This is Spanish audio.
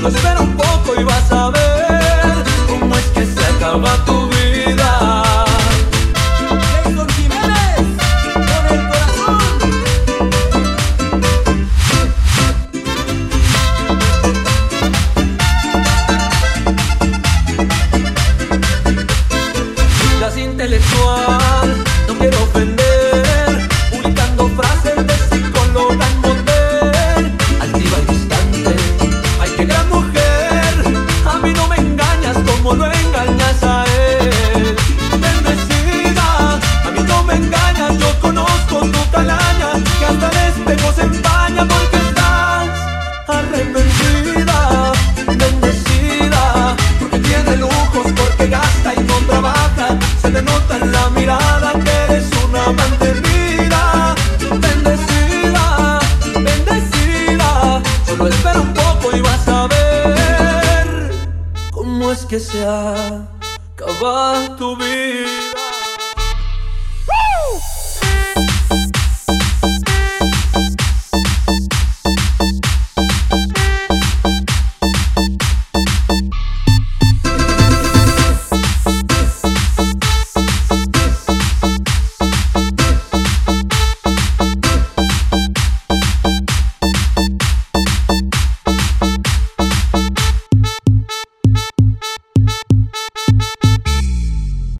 Solo espera un poco y vas a ver cómo es que se acaba tu vida. Jason Jiménez, con el corazón. Seas intelectual, no quiero ofender, publicando frases de psicóloga en motel, altiva y distante. Ay, qué gran mujer, a mí no me engañas como lo engañas a él. Bendecida, a mí no me engañas, yo conozco tu calaña, que hasta el espejo se empaña porque estás arrepentida. Bendecida, porque tiene lujos, porque gasta y no trabaja, se te nota en la mirada que eres una mantenida. Bendecida, bendecida, solo espera un poco y vas a ver cómo es que se acaba tu vida.